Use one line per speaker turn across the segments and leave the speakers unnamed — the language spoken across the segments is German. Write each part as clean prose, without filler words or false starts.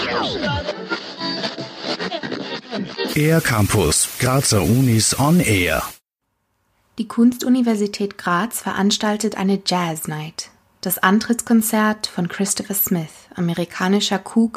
Air Campus, Grazer Unis on Air.
Die Kunstuniversität Graz veranstaltet eine Jazz Night. Das Antrittskonzert von Christopher Smith, amerikanischer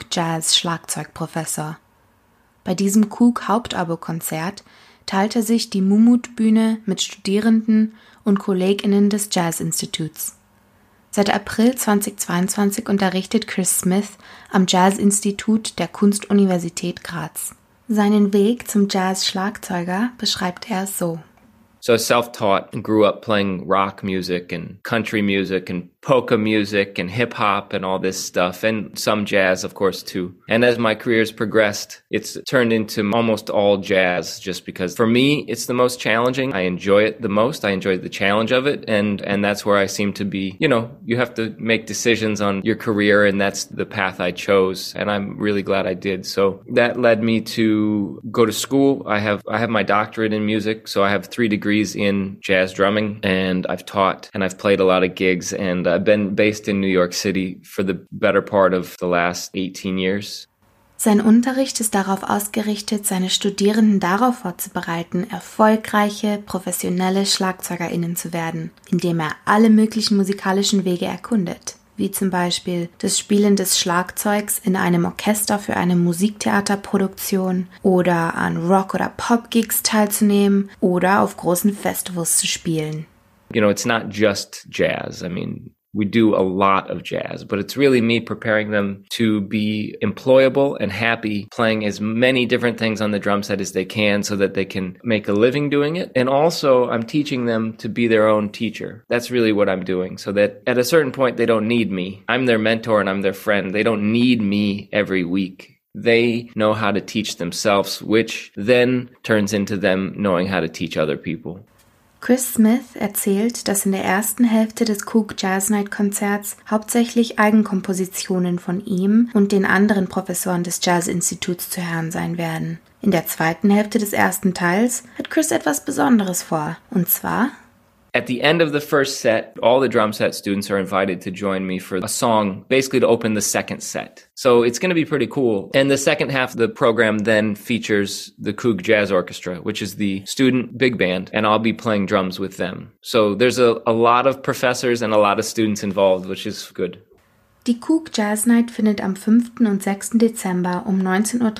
Cook-Jazz-Schlagzeugprofessor. Bei diesem Cook-Hauptabo-Konzert teilte sich die Mumut-Bühne mit Studierenden und KollegInnen des Jazz-Instituts. Seit April 2022 unterrichtet Chris Smith am Jazz-Institut der Kunstuniversität Graz. Seinen Weg zum Jazz-Schlagzeuger beschreibt er so.
So self-taught and grew up playing rock music and country music and polka music and hip-hop and all this stuff, and some jazz, of course, too. And as my career's progressed, it's turned into almost all jazz, just because for me, it's the most challenging. I enjoy it the most. I enjoy the challenge of it, and that's where I seem to be, you have to make decisions on your career, and that's the path I chose, and I'm really glad I did. So that led me to go to school. I have my doctorate in music, so I have 3 degrees in jazz drumming, and I've taught and I've played a lot of gigs, and I've been based in New York City for the better part of the last 18 years.
Sein Unterricht ist darauf ausgerichtet, seine Studierenden darauf vorzubereiten, erfolgreiche, professionelle SchlagzeugerInnen zu werden, indem er alle möglichen musikalischen Wege erkundet, wie zum Beispiel das Spielen des Schlagzeugs in einem Orchester für eine Musiktheaterproduktion oder an Rock- oder Pop-Gigs teilzunehmen oder auf großen Festivals zu spielen.
It's not just jazz. I mean, we do a lot of jazz, but it's really me preparing them to be employable and happy playing as many different things on the drum set as they can so that they can make a living doing it. And also I'm teaching them to be their own teacher. That's really what I'm doing, so that at a certain point they don't need me. I'm their mentor and I'm their friend. They don't need me every week. They know how to teach themselves, which then turns into them knowing how to teach other people.
Chris Smith erzählt, dass in der ersten Hälfte des Cook Jazz Night Konzerts hauptsächlich Eigenkompositionen von ihm und den anderen Professoren des Jazz-Instituts zu hören sein werden. In der zweiten Hälfte des ersten Teils hat Chris etwas Besonderes vor, und zwar:
At the end of the first set, all the drum set students are invited to join me for a song, basically to open the second set. So it's going to be pretty cool. And the second half of the program then features the Coog Jazz Orchestra, which is the student big band, and I'll be playing drums with them. So there's a lot of professors and a lot of students involved, which is good.
Die Coog Jazz Night findet am 5. und 6. Dezember um 19:30 Uhr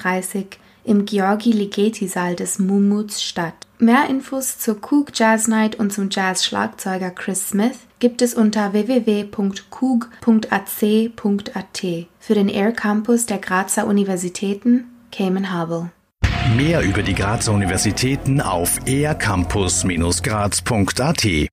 im Georgi-Ligeti-Saal des Mumuts statt. Mehr Infos zur Coog Jazz Night und zum Jazz-Schlagzeuger Chris Smith gibt es unter www.coog.ac.at für den Air Campus der Grazer Universitäten Cayman Harbor.
Mehr über die Grazer Universitäten auf aircampus-graz.at.